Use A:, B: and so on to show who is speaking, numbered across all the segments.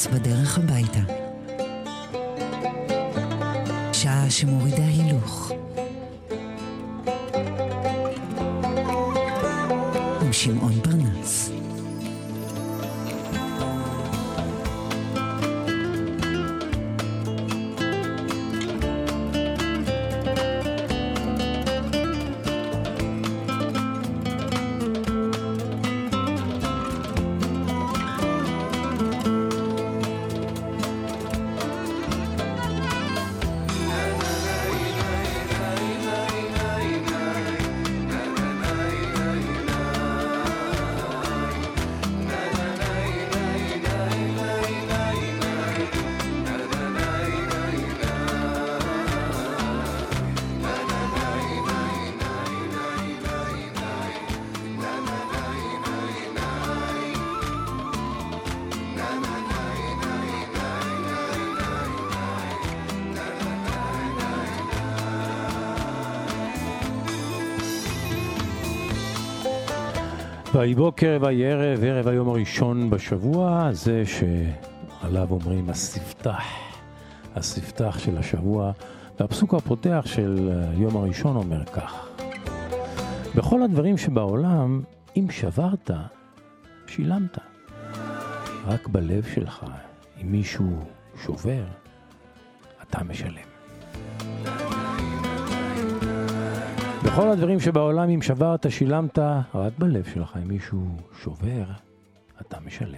A: פרנס בדרך הביתה. שעה שמורידה הילוך. עם שמעון פרנס.
B: ויהי בוקר ויהי ערב, ערב היום הראשון בשבוע, זה שעליו אומרים הספתח של השבוע, והפסוק הפותח של יום הראשון אומר כך: בכל הדברים שבעולם, אם שברת, שילמת. רק בלב שלך, אם מישהו שובר, אתה משלם. בכל הדברים שבעולם, אם שברת, שילמת, רק בלב שלך, אם מישהו שובר, אתה משלם.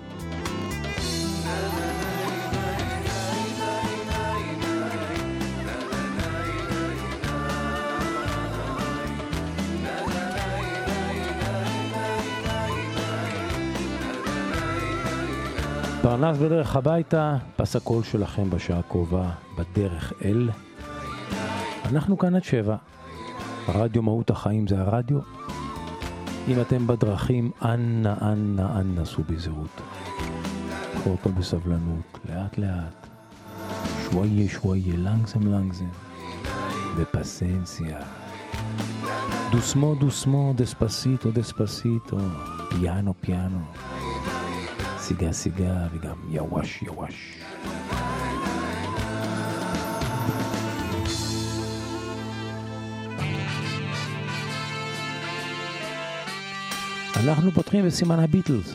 B: פרנס בדרך הביתה, פס הקול שלכם בשעה הקרובה, בדרך אל. אנחנו כאן עד 7. הרדיו מהות החיים זה הרדיו. אם אתם בדרכים, אנא סעו בזהירות. קחו אותו בסבלנות, לאט לאט. שוואיה, לנגזם. ופסנסיה. דוסמו, דספסיטו. פיאנו. סיגה, וגם יווש. אנחנו פותחים בסימן הביטלס.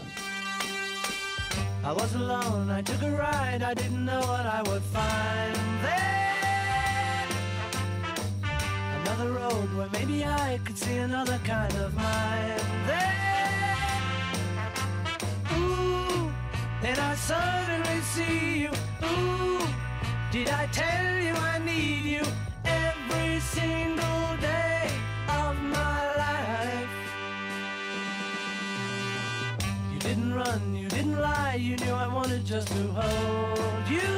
C: I was alone, I took a ride, I didn't know what I would find there. Another road where maybe I could see another kind of mind there. Ooh, then I suddenly see you. Ooh, did I tell you I need you every single day of my life? You didn't run, you didn't lie, you knew I wanted just to hold you.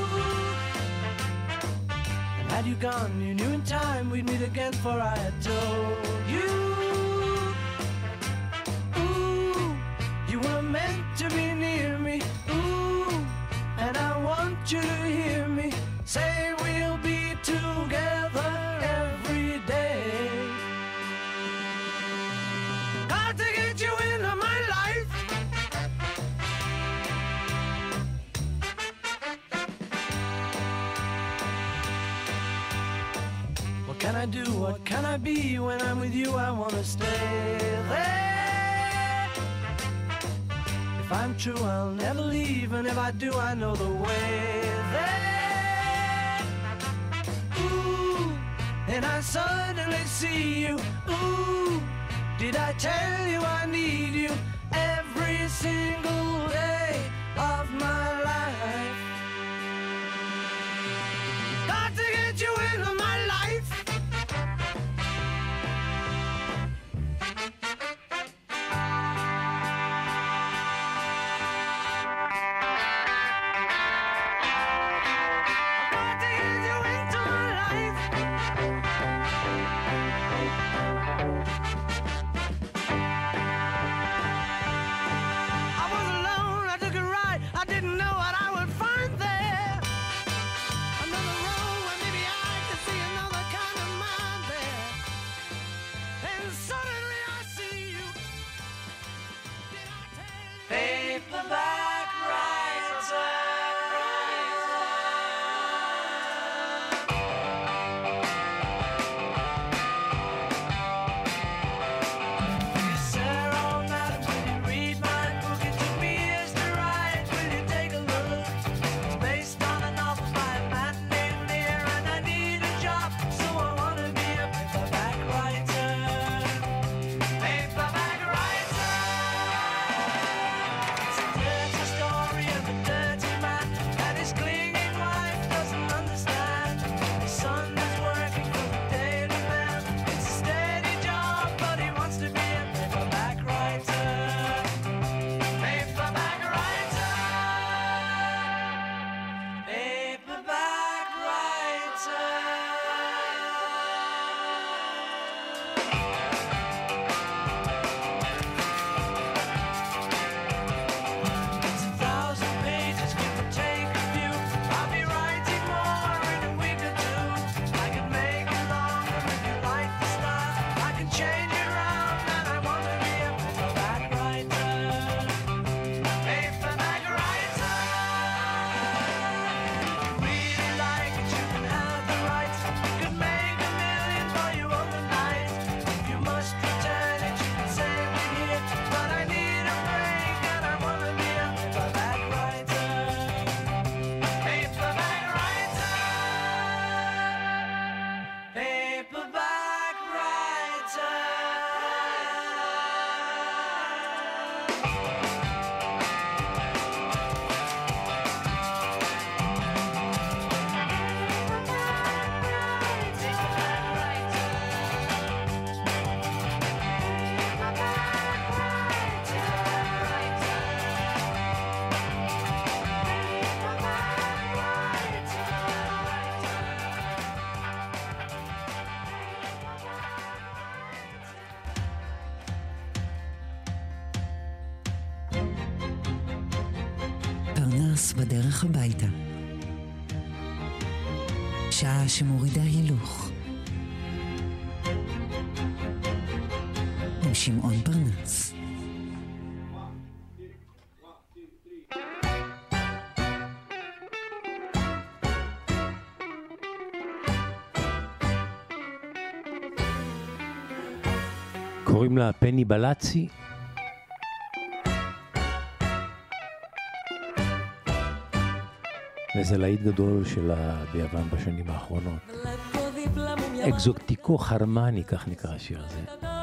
C: And had you gone, you knew in time we'd meet again, for I had told you. Ooh, you were meant to be near me. Ooh, and I want you to hear me say we'll be together every day. Got to get you into my life. What can I do? What can I be? When I'm with you, I want to stay there. If I'm true, I'll never leave, and if I do, I know the way there. Ooh, and I suddenly see you. Ooh, did I tell you I need you every single day of my life? Got to get you into my life. I was
A: ברנס בדרך הביתה. שעה שמורידה הילוך. עם שמעון ברנס.
B: קוראים לה פני בלצי. וזה להיט גדול שלה ביוון בשנים האחרונות. אקזוטיקו חרמני, כך נקרא השיר הזה.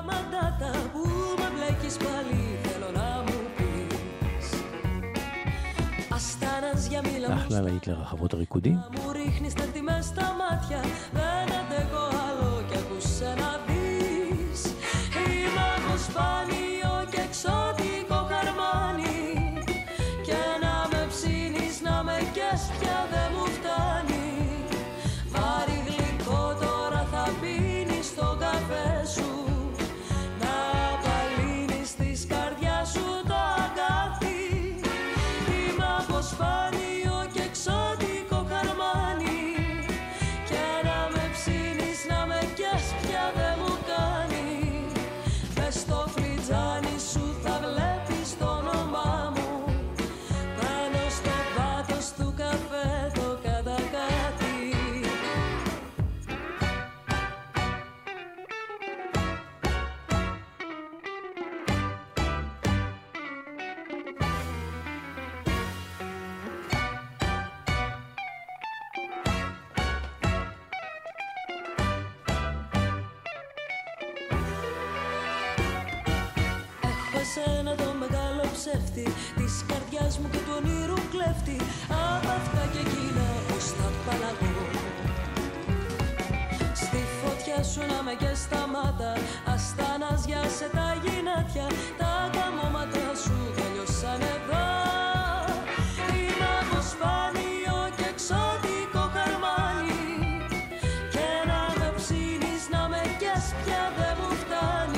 B: אחלה להיט לרחבות הריקודים.
D: Σπάνιο και εξωτικό χαρμάνι και να με ψήνεις να με κες πια δεν μου φτάνει. Βάρη γλυκό τώρα θα πίνεις στο καφέ σου, να απαλύνεις της καρδιάς σου το αγκάθι. Είμαι από σπάνιο και εξωτικό χαρμάνι και να με ψήνεις να με κες πια δεν μου κάνει. Στο φλιτζάνι σου θα βλέπεις το όνομά μου, πάνω στο πάτος του καφέ το κατακάτι. Εσένα το μεγάλο ψεύτη της καρδιάς μου και του ονείρου κλέφτη, απ' αυτά και εκείνα πως θα παλαγώ. Στη φωτιά σου να με και στα μάτα, ασταναζιάσε τα γυνάτια, τα καμώματα σου τελειώσαν εδώ. Είμαι από σπάνιο και εξωτικό χαρμάνι και να με ψήνεις να με κες πια δεν μου φτάνει.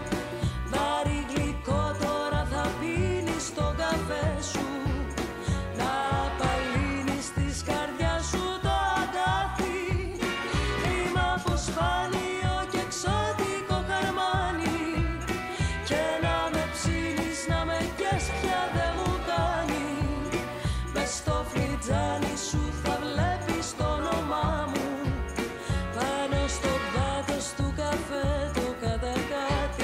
D: Στο καφέ σου να απαλύνεις της καρδιάς σου το αγκάθι. Είμαι από σπάνιο και εξωτικό χαρμάνι και να με ψήνεις να με κες πια δεν μου κάνει. Μες στο φλιτζάνι σου θα βλέπεις το όνομά μου, πάνω στο πάτος του καφέ το κατακάτι.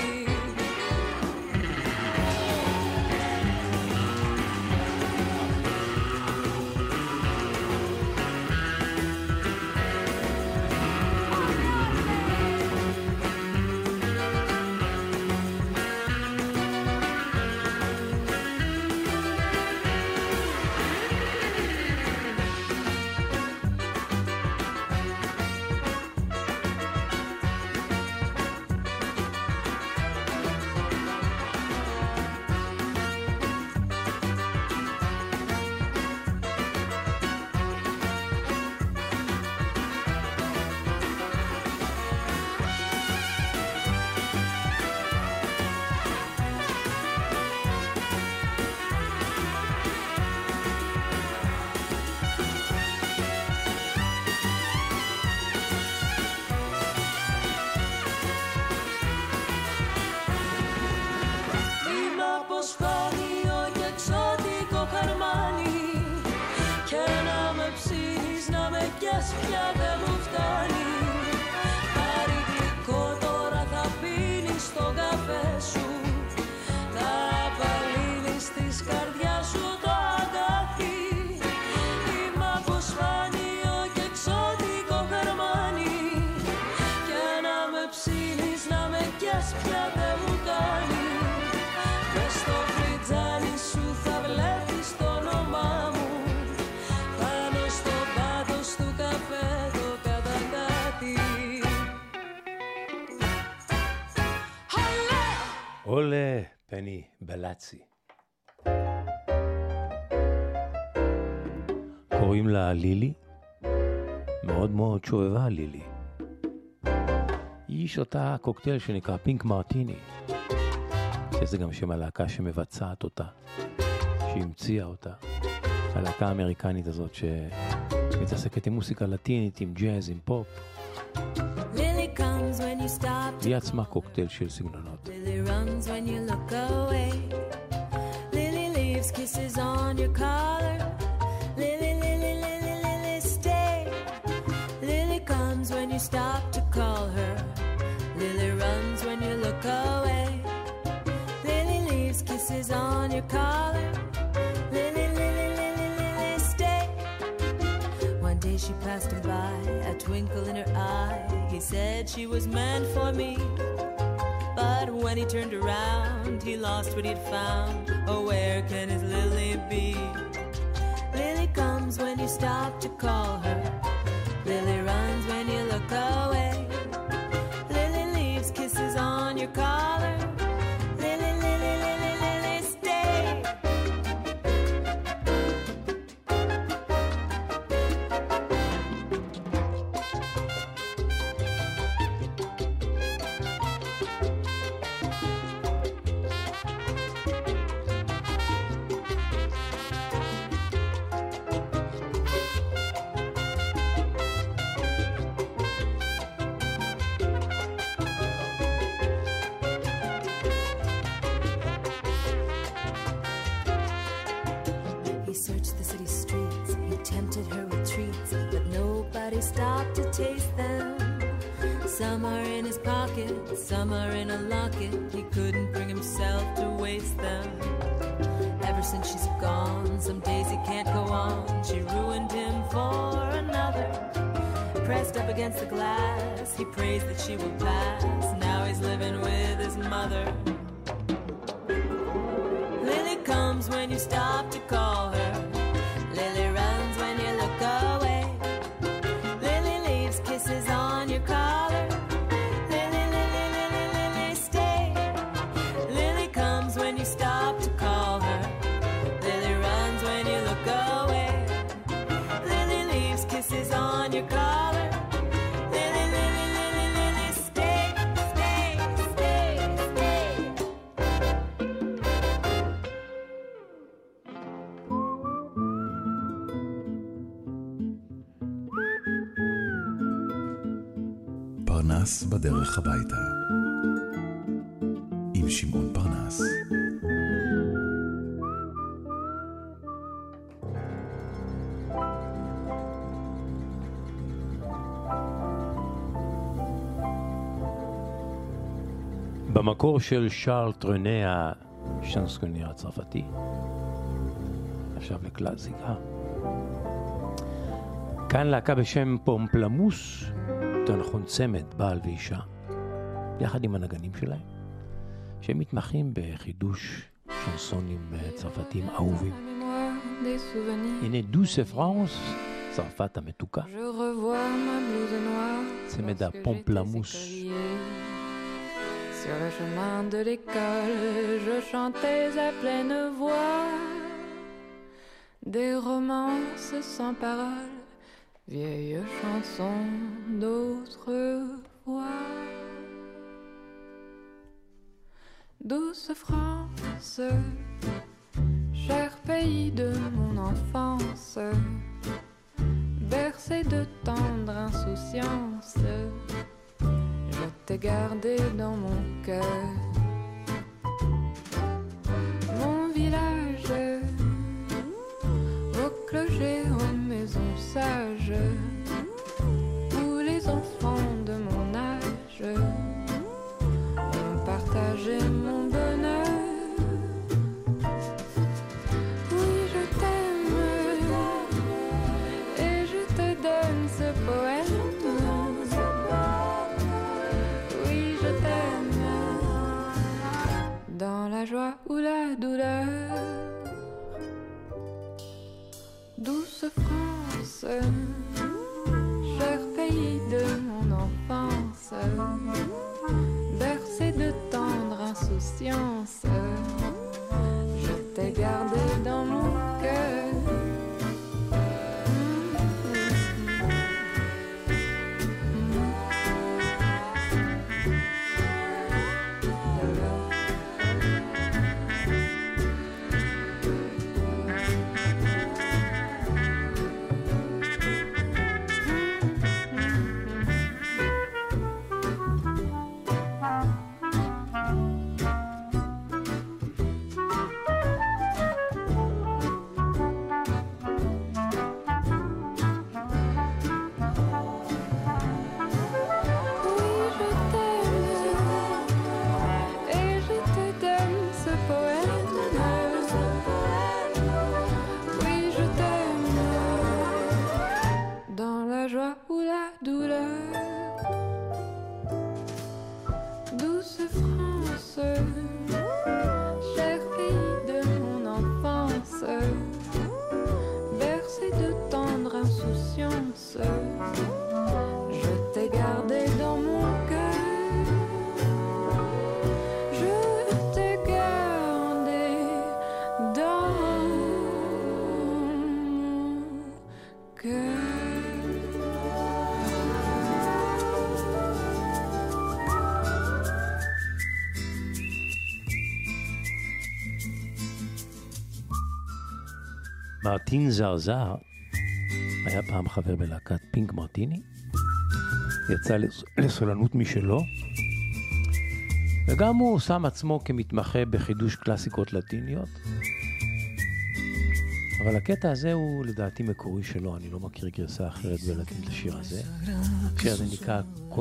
D: Πια δεν μου φτάνει. Πάρει γλυκό τώρα θα πίνεις στο καφέ σου, να απαλύνεις της καρδιάς σου το αγκάθι. Είμαι από σπάνιο και εξωτικό χαρμάνι και να με ψήνεις να με κες πια δεν μου κάνει. Μες στο φλιτζάνι σου θα βλέπεις το όνομά μου, πάνω στο πάτος του καφέ το κατακάτι.
B: Όλε, פני בלצי. קוראים לה לילי, מאוד מאוד שובבה לילי. היא שותה קוקטייל שנקרא פינק מרטיני, שזה גם שם הלהקה שמבצעת אותה, שהמציאה אותה. הלהקה האמריקנית הזאת שמתעסקת עם מוסיקה לטינית, עם ג'אז, עם פופ. היא עצמה קוקטייל של סגנונות.
D: Lily runs when you look away. Lily leaves kisses on your collar. Lily, Lily, Lily, Lily, stay. Lily comes when you stop to call her. Lily runs when you look away. Lily leaves kisses on your collar. Lily, Lily, Lily, Lily, stay. One day she passed him by, a twinkle in her eye. He said she was meant for me. But when he turned around, he lost what he'd found. Oh, where can his Lily be? Lily comes when you stop to call her. Lily runs when you look away. Lily leaves kisses on your collar. Lily, Lily, Lily, Lily, stay. Stopped to taste them. Some are in his pocket, some are in a locket. He couldn't bring himself to waste them. Ever since she's gone, some days he can't go on. She ruined him for another. Pressed up against the glass, he prays that she will pass. Now he's living with his mother. Lily comes when you stop to call her. Lily runs when you look away. Kisses on your collar. Lily, Lily, Lily, Lily, stay. Lily comes when you stop to call her. Lily runs when you look away. Lily leaves kisses on your collar. Lily, Lily, Lily, Lily, stay, stay, stay, stay.
E: פרנס בדרך הביתה עם שמעון פרנס.
B: במקור של שארל טרנה, השנסקונר הצרפתי, עכשיו לקלאסיקה. כאן להקה בשם פומפלמוס, יותר נכון צמד, בעל ואישה, יחד עם הנגנים שלהם, שהם מתמחים בחידוש שנסונים צרפתיים אהובים. הנה דוסה פרנס, צרפת המתוקה, צמד הפומפלמוס.
F: Sur le chemin de l'école, je chantais à pleine voix des romances sans paroles, vieilles chansons d'autrefois. Douce France, cher pays de mon enfance, bercé de tendre insouciance, je t'ai gardé dans mon cœur. Mon village, au clocher, aux maisons sages, où les enfants de mon âge ont partagé mon bonheur. Oui, je t'aime et je te donne ce poème. Dans la joie ou la douleur, douce France, France. Je t'ai gardé dans mon cœur. Je t'ai gardé dans mon cœur.
B: מרטין זרזר היה פעם חבר בלהקת פינק מרטיני, יצא לסולנות משלו, וגם הוא שם עצמו כמתמחה בחידוש קלאסיקות לטיניות. אבל הקטע הזה הוא לדעתי מקורי שלו, אני לא מכיר גרסה אחרת בלטינית לשיר הזה. השיר הזה נקרא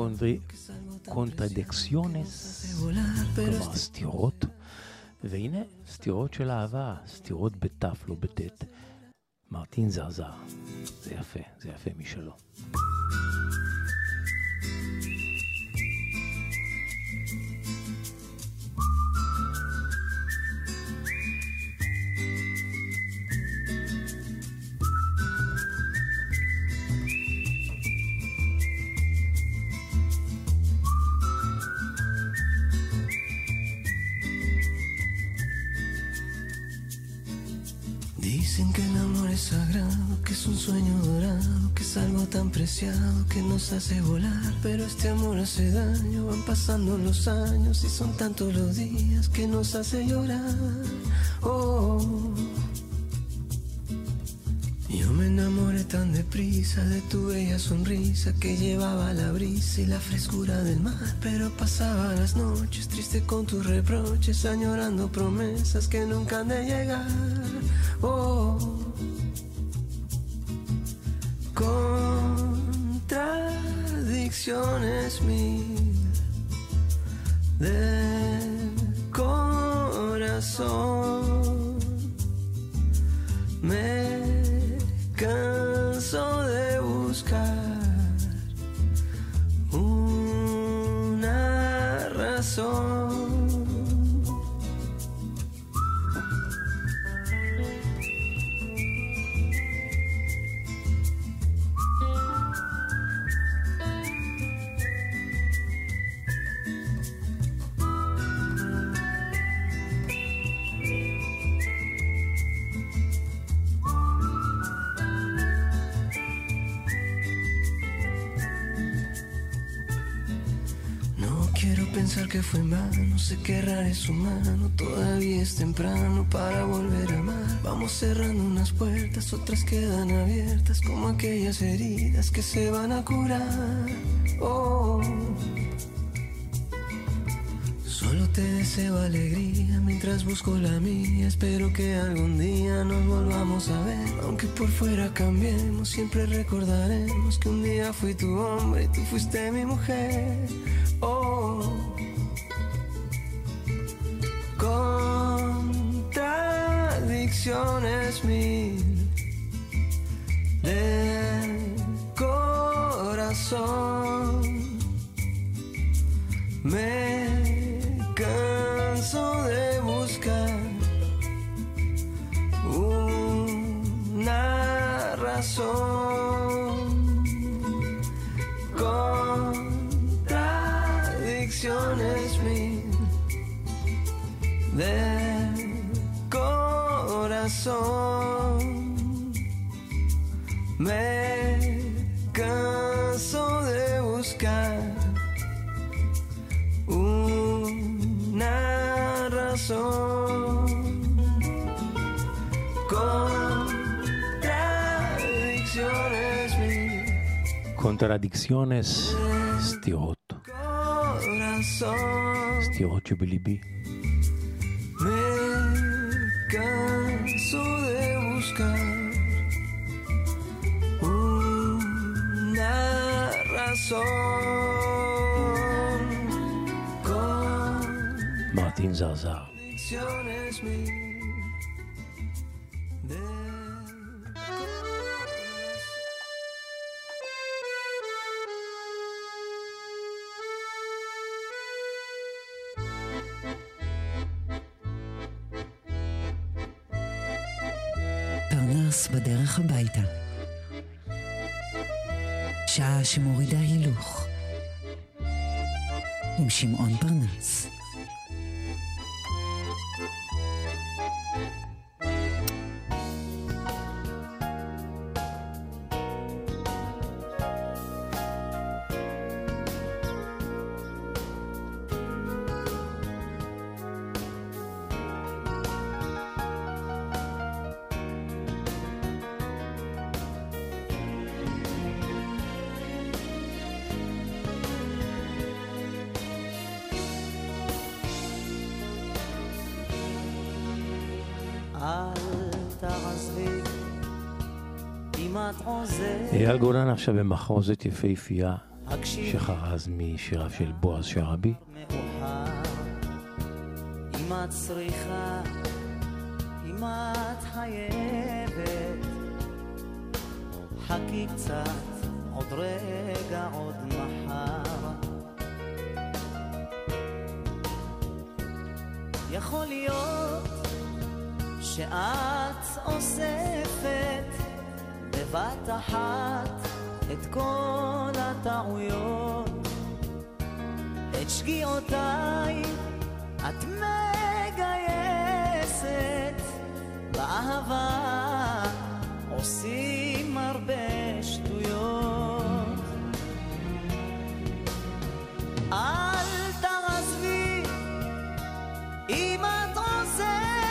B: קונטרדיקציונס, כלומר סתירות, והנה סתירות של אהבה, סתירות בתף, לא בתת. מרטין זרזר, זה יפה משלו.
G: Dicen que el amor es sagrado, que es un sueño dorado, que es algo tan preciado que nos hace volar. Pero este amor hace daño, van pasando los años y son tantos los días que nos hace llorar. Oh, yo me enamoré tan deprisa de tu bella sonrisa que llevaba la brisa y la frescura del mar. Pero pasaba las noches triste con tus reproches, añorando promesas que nunca han de llegar. Oh, contradicciones mil del corazón. Me canso de buscar una razón. Pensar que fue en vano, sé que errar es humano, todavía es temprano para volver a amar. Vamos cerrando unas puertas, otras quedan abiertas, como aquellas heridas que se van a curar. Oh, solo te deseo alegría mientras busco la mía, espero que algún día nos volvamos a ver. Aunque por fuera cambiemos, siempre recordaremos que un día fui tu hombre y tú fuiste mi mujer. Oh, contradicciones mil del corazón. Me canso de buscar una razón. Contradicciones mil del corazón. Me canso de buscar una razón. Contradicciones mil.
B: קונטרדיקציונס, סתירות. סתירות שבליבי.
G: Me canso de buscar una razón.
B: מרטין זרזר.
G: Contradicciones mil del
A: פרנס בדרך הביתה. שעה שמורידה הילוך עם שמעון פרנס.
B: אייל גולן עכשיו במחרוזת יפהפייה שחרז משיריו של בועז שרעבי.
C: אם את צריכה, אם את חייבת, חכי קצת, עוד רגע, עוד מחר. יכול להיות שאת אוספת בבת אחת את כל הטעויות, את שגיאותיי את מגייסת, באהבה עושים הרבה שטויות. אל תעזבי אם את עוזבת,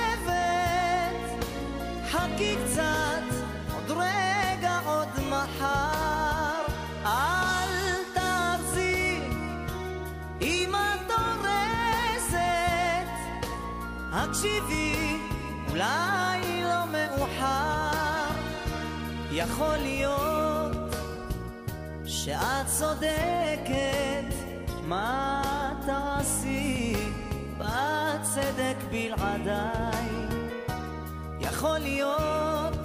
C: חכי קצת, עוד רגע, עוד מחר. אל תרזי אם את הורסת, הקשיבי, אולי לא מאוחר. יכול להיות שאת צודקת, מה תעשי בצדק בלעדיי. יכול להיות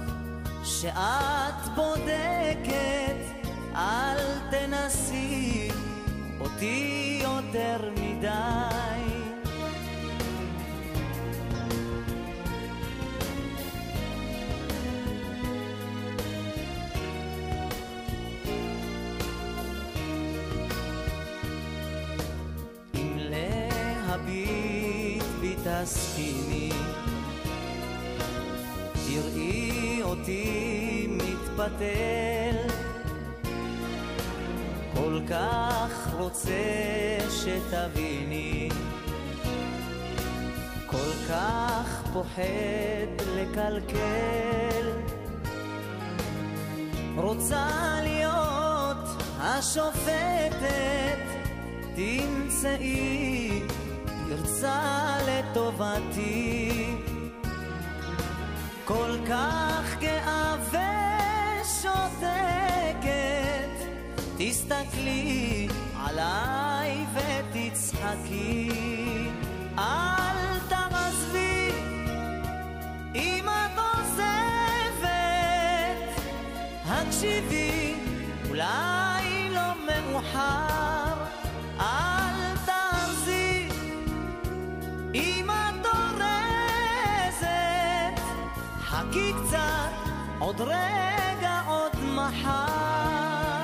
C: שאת בודקת, אל תנסי אותי יותר מדי. אם להביט בי תסכימי, תראי אותי מתפתל, כל כך רוצה שתביני, כל כך פוחד לקלקל. רוצה להיות השופטת, תמצאי פרצה לטובתי, כל כך גאה ושותקת, תסתכלי עליי ותצחקי. אל תעזבי אם את עוזבת, הקשיבי, אולי לא מאוחר. אל תעזבי אם את הורסת, חכי קצת, עוד רגע, עוד מחר.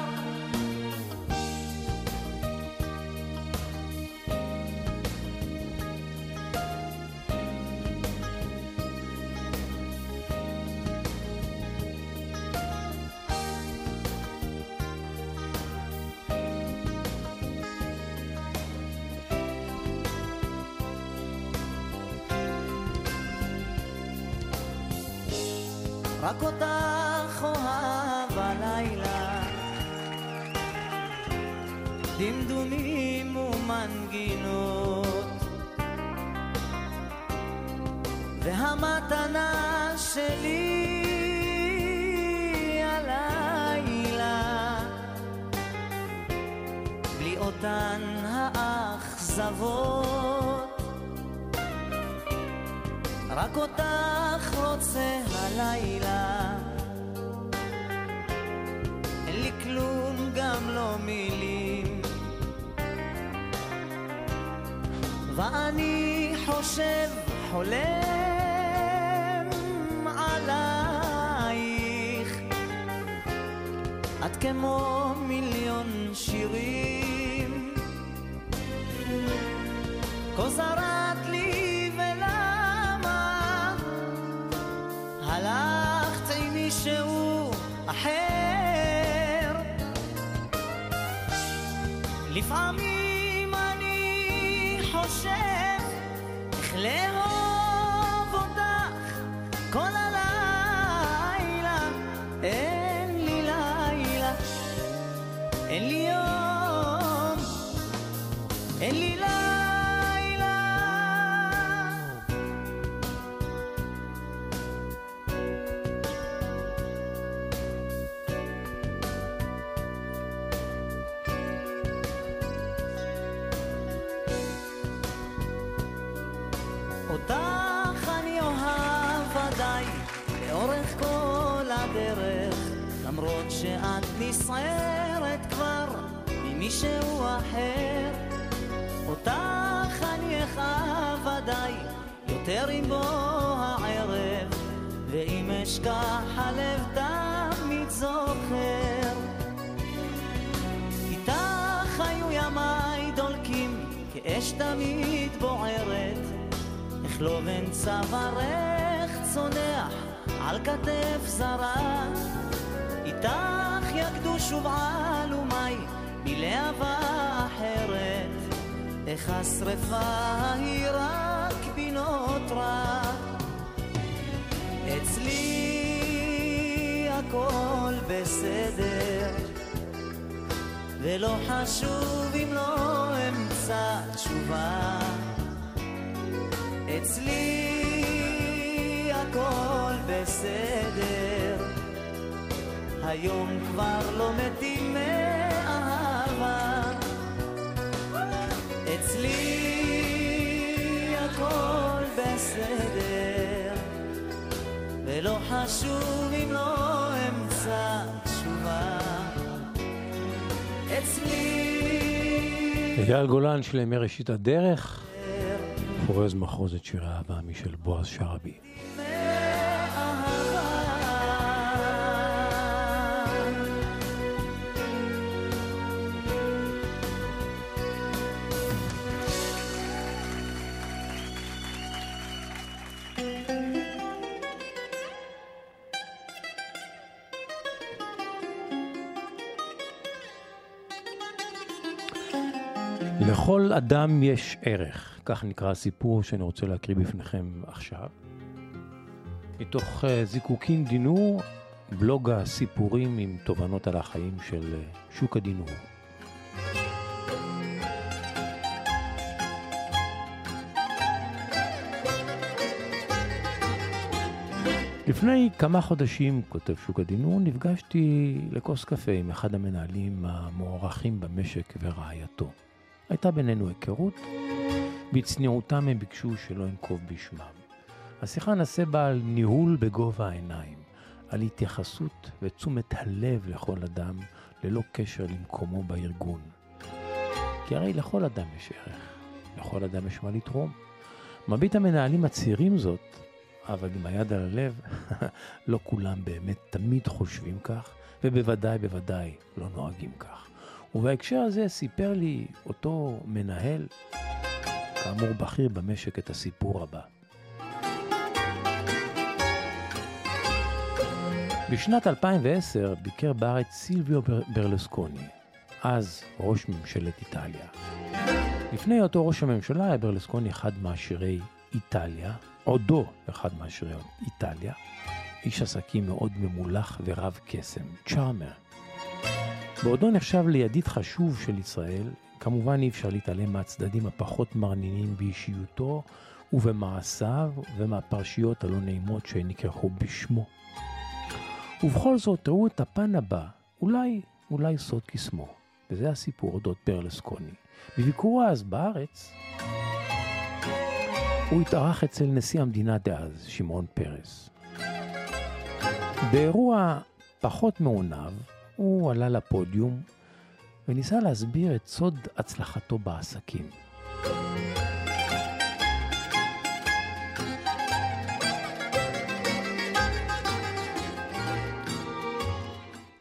C: רק אותך אוהב הלילה, דמדומים ומנגינות, והמתנה שלי הלילה, בלי אותן האכזבות. רק אותך רוצה הלילה, אין לי כלום, גם לא מילים, ואני חושב, חולם עלייך, את כמו מיליון שירים, כה זרת לי ולמה הלכת עם מישהו אחר. לפעמים אני חושב איך לאהוב אותך כל הלילה. אין לי לילה, אין לי יום, אין לי לילה. אותך אני אוהב ודאי לאורך כל הדרך, למרות שאת נסערת כבר ממישהו אחר. אותך אני אכאב ודאי יותר עם בוא הערב, ואם אשכח הלב תמיד זוכר. איתך היו ימיי דולקים כאש תמיד בוערת, איך לא בן צווארך צונח על כתף זרה. איתך יקדו שוב עלומי בלהבה אחרת, איך השרפה היא רק בי נותרה. אצלי הכל בסדר, ולא חשוב אם לא אמצא תשובה. אצלי הכל בסדר, היום כבר לא מתים מאהבה. אצלי הכל בסדר, ולא חשוב אם לא אמצא תשובה. אצלי
B: אייל גולן של מראשית הדרך, פורז מחרוזת שיר האהבה משל בועז שרעבי. לכל אדם יש ערך, כך נקרא הסיפור שאני רוצה להקריא בפניכם עכשיו. מתוך זיקוקין דינור, בלוג הסיפורים עם תובנות על החיים של שוק הדינור. לפני כמה חודשים, כותב שוק הדינור, נפגשתי לכוס קפה עם אחד המנהלים המוערכים במשק ורעייתו. הייתה בינינו היכרות, בצניעותם הם ביקשו שלא אנקוב בשמם. השיחה נעשה בה על ניהול בגובה העיניים, על התייחסות ותשומת הלב לכל אדם, ללא קשר למקומו בארגון. כי הרי לכל אדם יש ערך, לכל אדם יש מה לתרום. מרבית המנהלים הצעירים זאת, אבל עם היד על הלב, לא כולם באמת תמיד חושבים כך, ובוודאי לא נוהגים כך. ובהקשר הזה סיפר לי אותו מנהל, כאמור בכיר במשק, את הסיפור הבא. בשנת 2010 ביקר בארץ סילביו ברלוסקוני, אז ראש ממשלת איטליה. לפני אותו ראש הממשלה היה ברלוסקוני אחד מעשירי איטליה, עודו אחד מעשירי איטליה, איש עסקים מאוד ממולח ורב קסם, צ'ארמר. בעודו נחשב לידיד חשוב של ישראל, כמובן אי אפשר להתעלם מהצדדים הפחות מרנינים באישיותו ובמעשיו ומהפרשיות הלא נעימות שנקרחו בשמו. ובכל זאת ראו את הפן הבא, אולי סוד קסמו, וזה הסיפור אודות ברלוסקוני. בביקורו אז בארץ, הוא התארח אצל נשיא המדינה דאז, שמעון פרס. באירוע פחות מעונב, הוא עלה לפודיום וניסה להסביר את סוד הצלחתו בעסקים.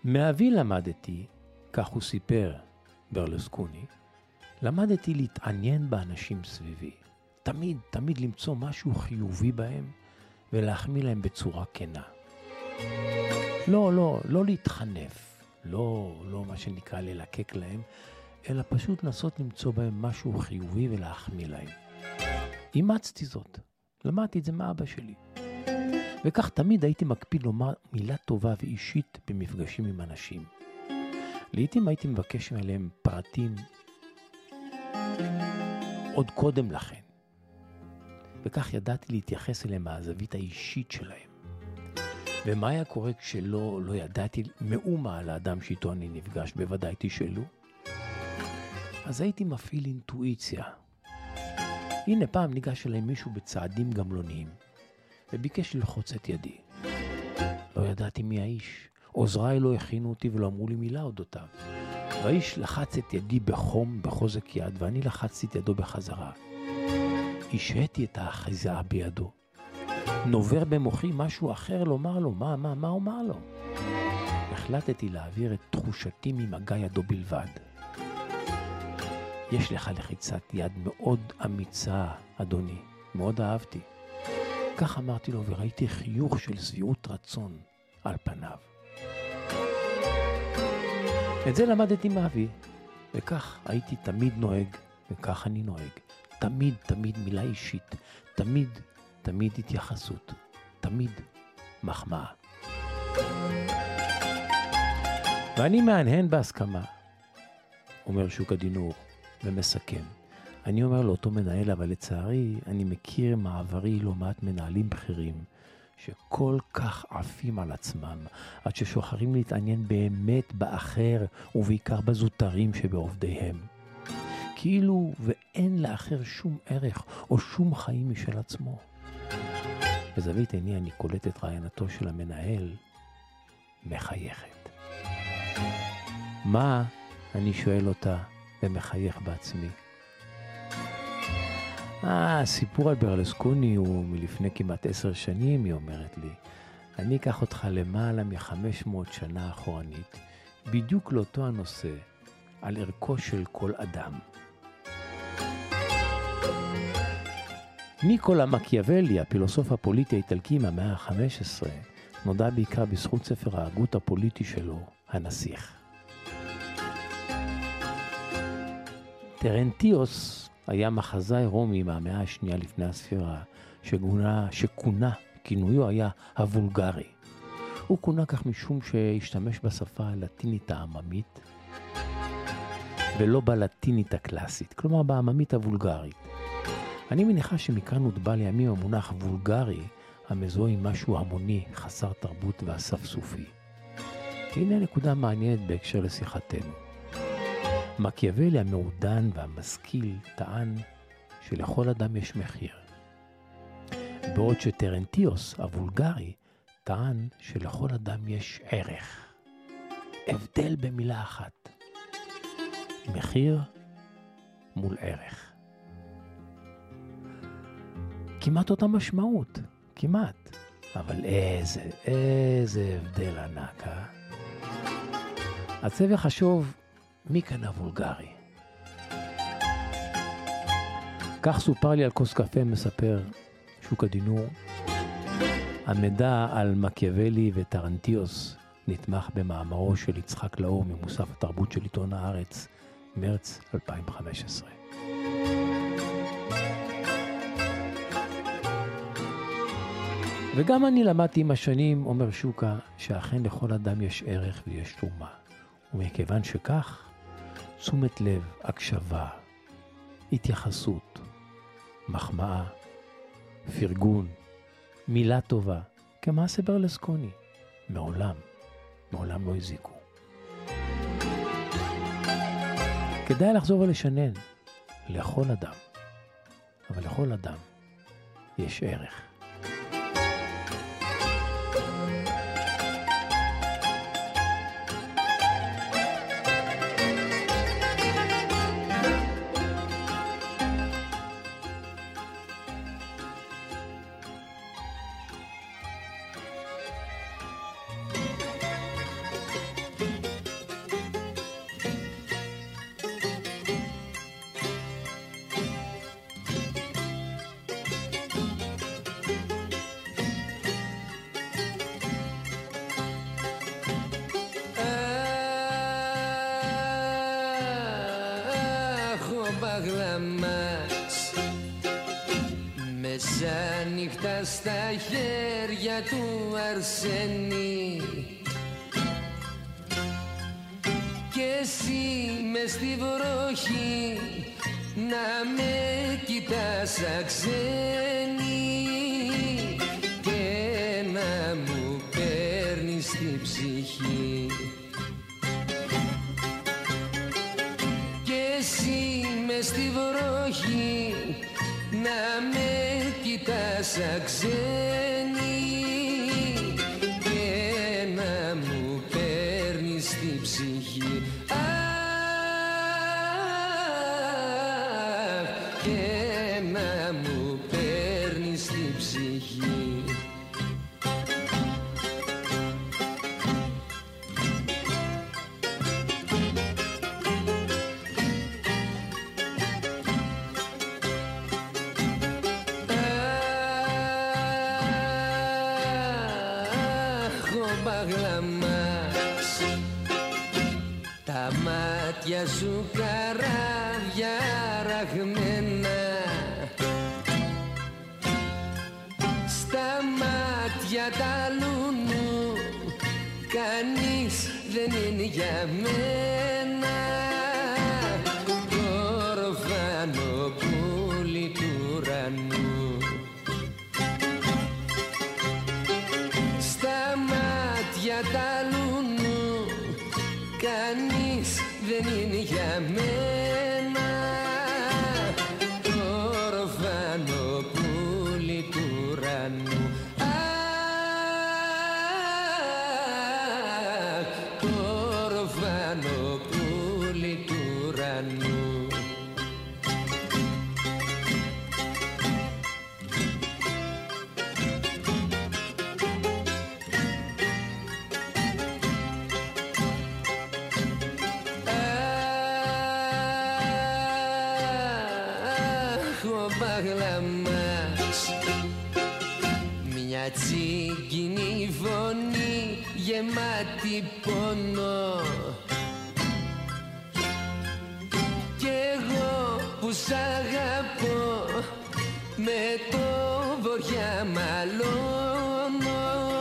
B: מאבי למדתי, כך הוא סיפר ברלוסקוני, למדתי להתעניין באנשים סביבי. תמיד למצוא משהו חיובי בהם ולהחמיא להם בצורה כנה. לא להתחנף, לא מה שנקרא ללקק להם, אלא פשוט לנסות למצוא בהם משהו חיובי ולהחמיא להם. אימצתי זאת, למדתי את זה מאבא שלי. וכך תמיד הייתי מקפיד לומר מילה טובה ואישית במפגשים עם אנשים. לעתים הייתי מבקש עליהם פרטים עוד קודם לכן. וכך ידעתי להתייחס אליהם מהזווית האישית שלהם. ומה היה קורה כשלא ידעתי מאומה על האדם שאיתו אני נפגש, בוודאי תשאלו. אז הייתי מפעיל אינטואיציה. הנה פעם ניגש אליי מישהו בצעדים גמלוניים, וביקש ללחוץ את ידי. לא ידעתי מי האיש. עוזריי לא הכינו אותי ולא אמרו לי מילה אודותיו. והאיש לחץ את ידי בחום, בחוזק יד, ואני לחצתי את ידו בחזרה. השהיתי את האחיזה בידו. נובר במוחי משהו אחר לומר לו. מה אומר לו? החלטתי להעביר את תחושתי ממגע ידו בלבד. יש לך לחיצת יד מאוד אמיצה, אדוני. מאוד אהבתי. כך אמרתי לו, וראיתי חיוך של שביעות רצון על פניו. את זה למדתי מאבי, וכך הייתי תמיד נוהג, וכך אני נוהג. תמיד מילה אישית, תמיד התייחסות, תמיד מחמאה. ואני מהנהן בהסכמה, אומר שוק הדינור, ומסכם. אני אומר לאותו מנהל, אבל לצערי אני מכיר מעברי לא מעט מנהלים בכירים, שכל כך עפים על עצמם, עד ששוחרים להתעניין באמת באחר, ובעיקר בזוטרים שבעובדיהם. כאילו ואין לאחר שום ערך או שום חיים משל עצמו. בזווית עיני אני קולט את רעיונתו של המנהל מחייכת. מה? אני שואל אותה ומחייך בעצמי. הסיפור על ברלוסקוני הוא מלפני כמעט 10 שנים, היא אומרת לי. אני אקח אותך למעלה מ-500 שנה אחורנית, בדיוק לאותו הנושא, על ערכו של כל אדם. ניקולה מקיאוולי, הפילוסוף הפוליטי האיטלקי מהמאה ה-15, נודע בעיקר בזכות ספר ההגות הפוליטי שלו, הנסיך. טרנטיוס היה מחזאי רומי מהמאה השנייה לפני הספירה, שכונה, כינויו היה הוולגרי. הוא כונה כך משום שהשתמש בשפה הלטינית העממית, ולא בלטינית הקלאסית, כלומר בעממית הוולגרית. אני מניחה שמכאן הוטבע לימים המונח וולגרי, המזוהה עם משהו המוני, חסר תרבות ואספסופי. הנה נקודה מעניינת בהקשר לשיחתנו. מקיאוולי המעודן והמשכיל טען שלכל אדם יש מחיר. בעוד שטרנטיוס הוולגרי טען שלכל אדם יש ערך. הבדל במילה אחת. מחיר מול ערך. כמעט אותה משמעות, כמעט. אבל איזה הבדל ענק, אז זה וחשוב מי כאן הוולגרי. כך סופר לי על כוס קפה, מספר שוק הדינור. המידע על מקיאוולי וטרנטיוס נתמך במאמרו של יצחק לאור ממוסף התרבות של עיתון הארץ, מרץ 2015. וגם אני למדתי עם השנים, אומר שוקה, שאכן לכל אדם יש ערך ויש תרומה. ומכיוון שכך, תשומת לב, הקשבה, התייחסות, מחמאה, פרגון, מילה טובה, כמעשה ברלוסקוני, מעולם לא הזיקו. כדאי לחזור ולשנן, לכל אדם, אבל לכל אדם יש ערך.
G: μας. Μεσάνυχτα στα χέρια του Αρσένη κι εσύ μες στη βροχή να με κοιτάς σαν ξένη και να μου παίρνεις την ψυχή. Κι εσύ μες στη βροχή να με κοιτάς σαν ξένη και να μου παίρνεις την ψυχή. Και να μου παίρνεις την ψυχή. Τα μάτια σου καράβια ραγμένα, στα μάτια τα λουνού κανείς δεν είναι για μένα. Κορφανό πουλί του ουρανού, στα μάτια τα λουνού κανείς δεν είναι για μένα. Ορφανό πουλί του ουρανού, ορφανό πουλί του ουρανού. Μια τσίγκινη φωνή γεμάτη πόνο κι εγώ που σ' αγαπώ με το βοριά μαλώνω.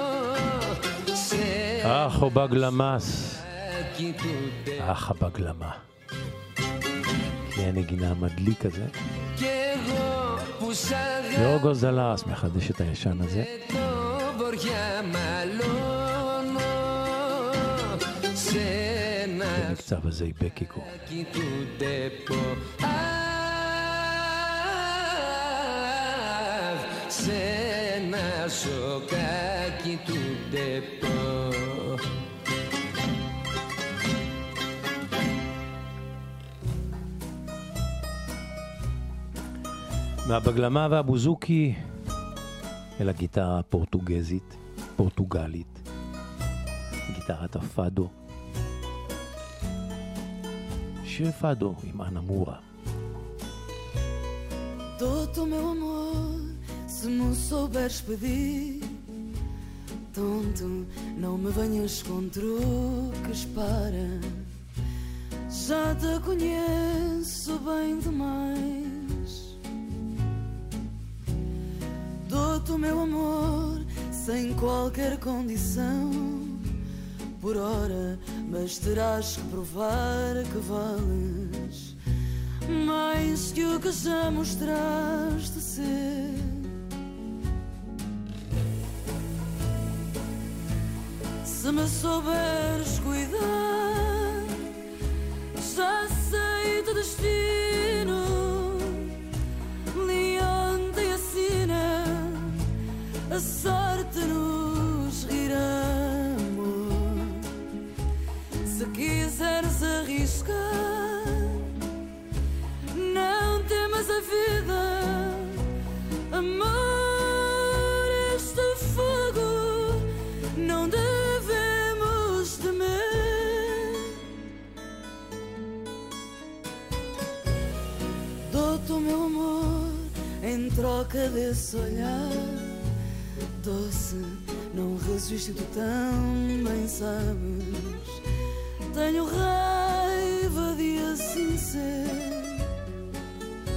B: Αχ ο בגלמס, αχ הבגלמה. היא הנגינה המדליק הזה. יורגו זלס מחדש את הישן הזה. במקצב הזה בקיקו.
G: Σένα σοκάκι του ντεπό.
B: מהבגלמה והבוזוקי אל הגיטרה הפורטוגזית, פורטוגלית, גיטרת הפאדו, שיר פאדו עם אנה מורה.
D: Todo meu amor, se me souberes pedir, tonto, não me venhas com truques para. Já te conheço bem demais. Dou-te o meu amor sem qualquer condição, por hora, mas terás que provar que vales mais que o que já mostraste ser. Se me souberes cuidar, já sei do destino. Leonte e assina, a sorte nos rirá, amor. Se quiseres arriscar, não temas a vida, amor, este fogo não devemos temer. Dou-te o meu amor em troca desse olhar doce, não resisto, tu também sabes. Tenho raiva de assim ser.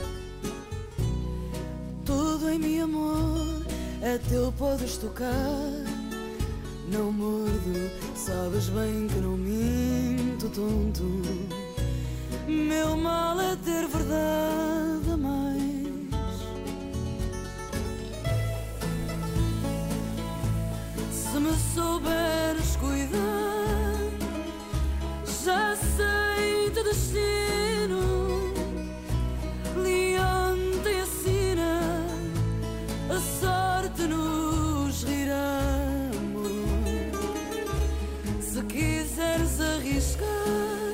G: amor, até eu podes tocar. Não mordo, sabes bem que não minto, tonto. Meu mal é ter verdade a mais. Se me souberes cuidar, já sei teu destino. Leante e assina, a sorte nos rirá. Se quiseres arriscar,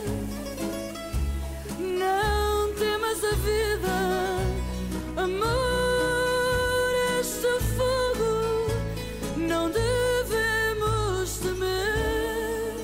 G: não temas a vida, amor, este fogo não devemos temer.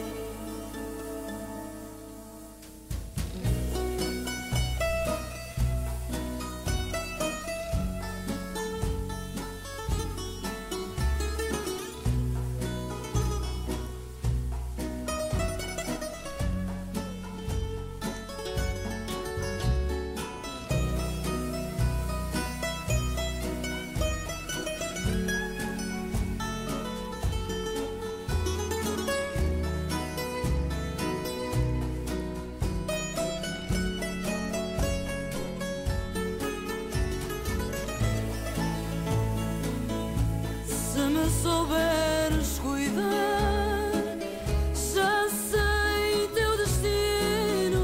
G: Se me souberes cuidar, já sei teu destino.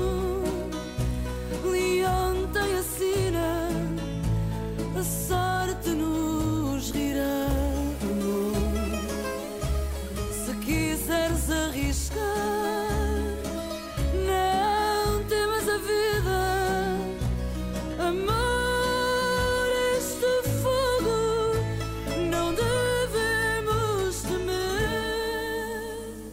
G: Leonta e assina, a sorte nos rirá, amor. Se quiseres arriscar, não temas a vida, amor, este fogo não devemos temer.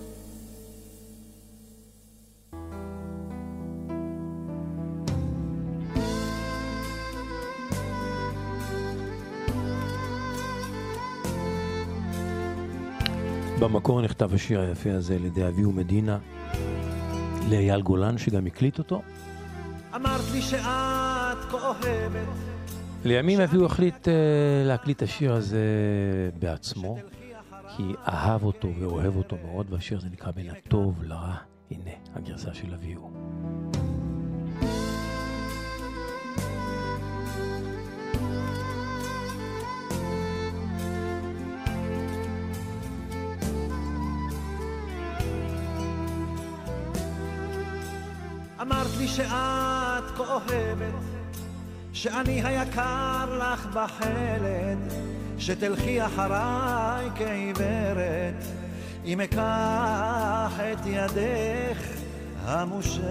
B: במקור נכתב השיר היפה הזה על ידי אביהו מדינה, לאייל גולן שגם הקליט אותו.
C: אמרת לי שאת כה אוהבת,
B: לימים אביהו החליט להקליט את השיר הזה בעצמו, כי אהב אותו ואוהב אותו מאוד, והשיר הזה נקרא בין הטוב לרע. הנה הגרסה של אביהו.
C: אמרת לי שאת כה אוהבת, שאני היקר לך בחלד, שתלכי אחריי כעיוורת, אם אקח את ידך המושטת.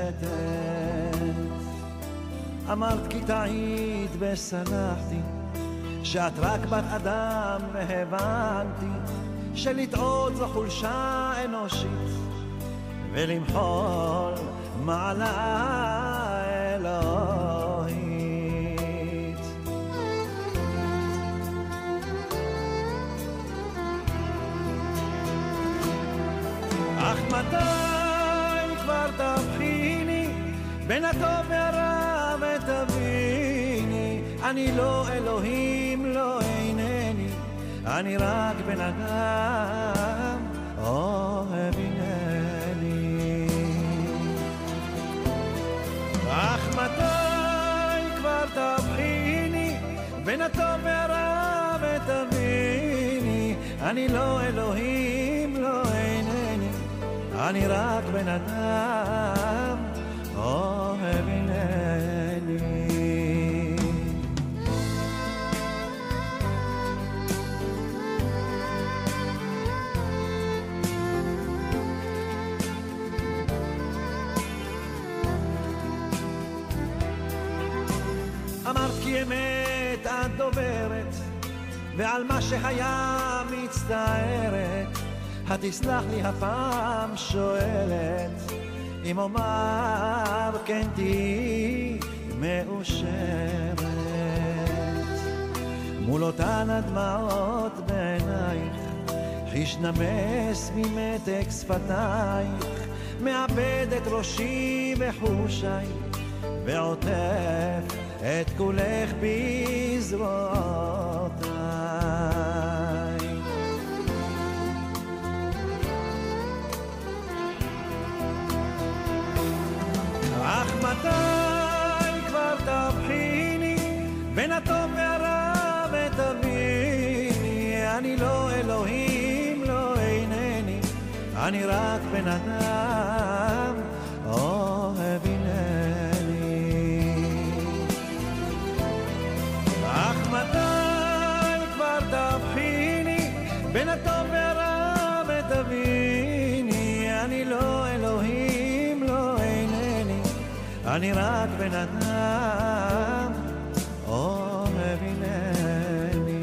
C: אמרת כי טעית וסלחתי, שאת רק בת אדם והבנתי, שלטעות זו חולשה אנושית, ולמחול מעלה אלוהית. אך מתי כבר תבחיני בין הטוב והרע ותביני, אני לא אלוהים, לא אינני, אני רק בן אדם אוהב הנני. אך מתי כבר תבחיני בין הטוב והרע ותביני, אני לא אלוהים, לא אינני, אני רק בן אדם אוהב הנני. אמרת כי אמת את דוברת, ועל מה שהיה מצטערת, התסלח לי הפעם שואלת, אם אומר כן תהי מאושרת. מול אותן הדמעות בעינייך, חיש נמס ממתק שפתייך, מאבד את ראשי וחושי, ועוטף את כולך בזרועותיי. אך מתי כבר תבחיני בין הטוב והרע ותביני, אני לא אלוהים, לא אינני, אני רק בן אדם, אוהב הנני. אך מתי כבר תבחיני בין הטוב והרע ותביני, אני לא אלוהים, לא אינני, אני רק בן אדם, אוהב הנני.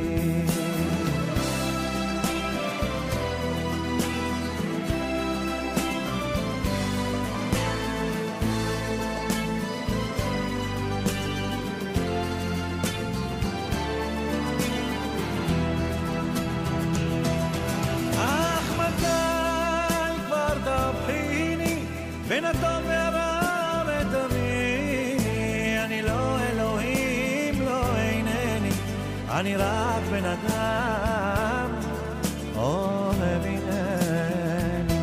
C: אך מתי כבר תבחיני בין הטוב והרע ותביני, אני לא אלוהים, לא אינני, אני רק בן אדם, אוהב הנני.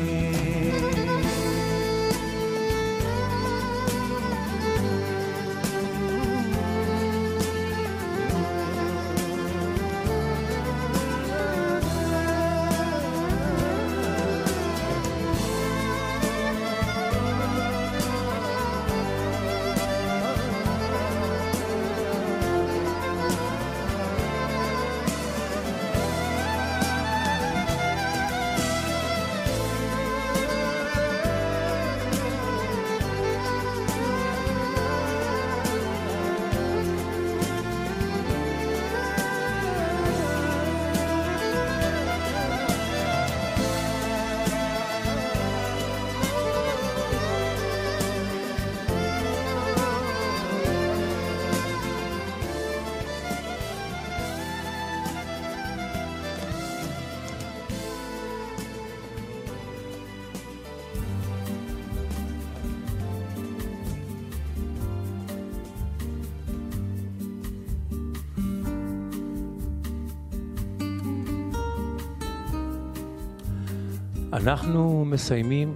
B: אנחנו מסיימים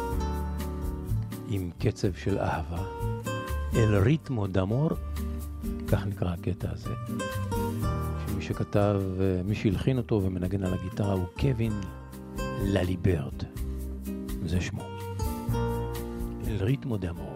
B: עם קצב של אהבה, אל ריתמו דמור, כך נקרא הקטע הזה, שמי שכתב, מי שהלחין אותו ומנגן על הגיטרה הוא קווין לליברד, זה שמו, אל ריתמו דמור.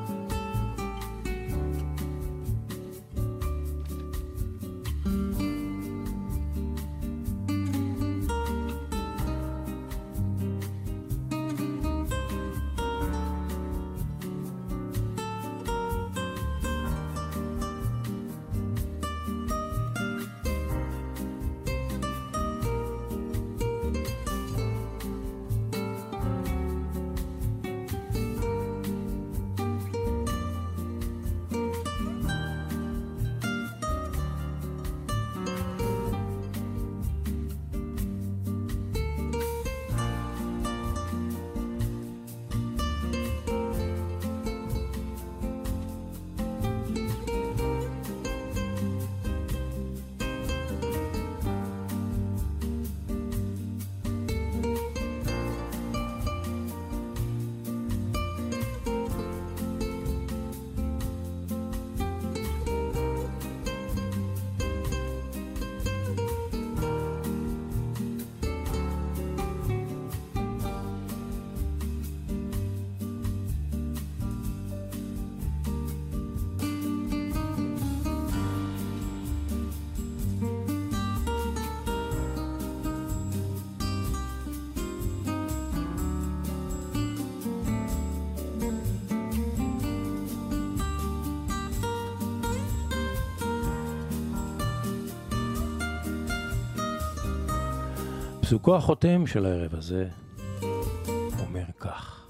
B: פסוקו החותם של הערב הזה אומר כך: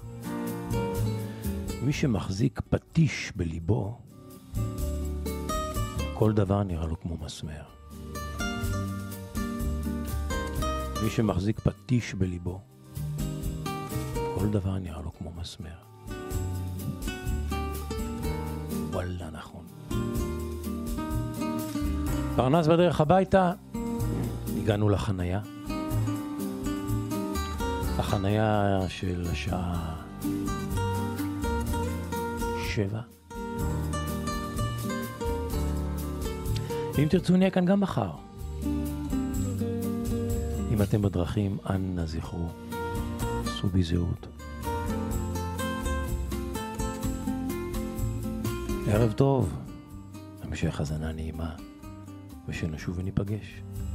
B: מי שמחזיק פטיש בליבו, כל דבר נראה לו כמו מסמר. מי שמחזיק פטיש בליבו, כל דבר נראה לו כמו מסמר. וואלה, נכון. פרנס בדרך הביתה, הגענו לחנייה. החנייה של השעה 7. אם תרצו נהיה כאן גם מחר. אם אתם בדרכים, אנא זכרו, סעו בזהירות. ערב טוב, המשך הזנה נעימה, ושנשוב וניפגש.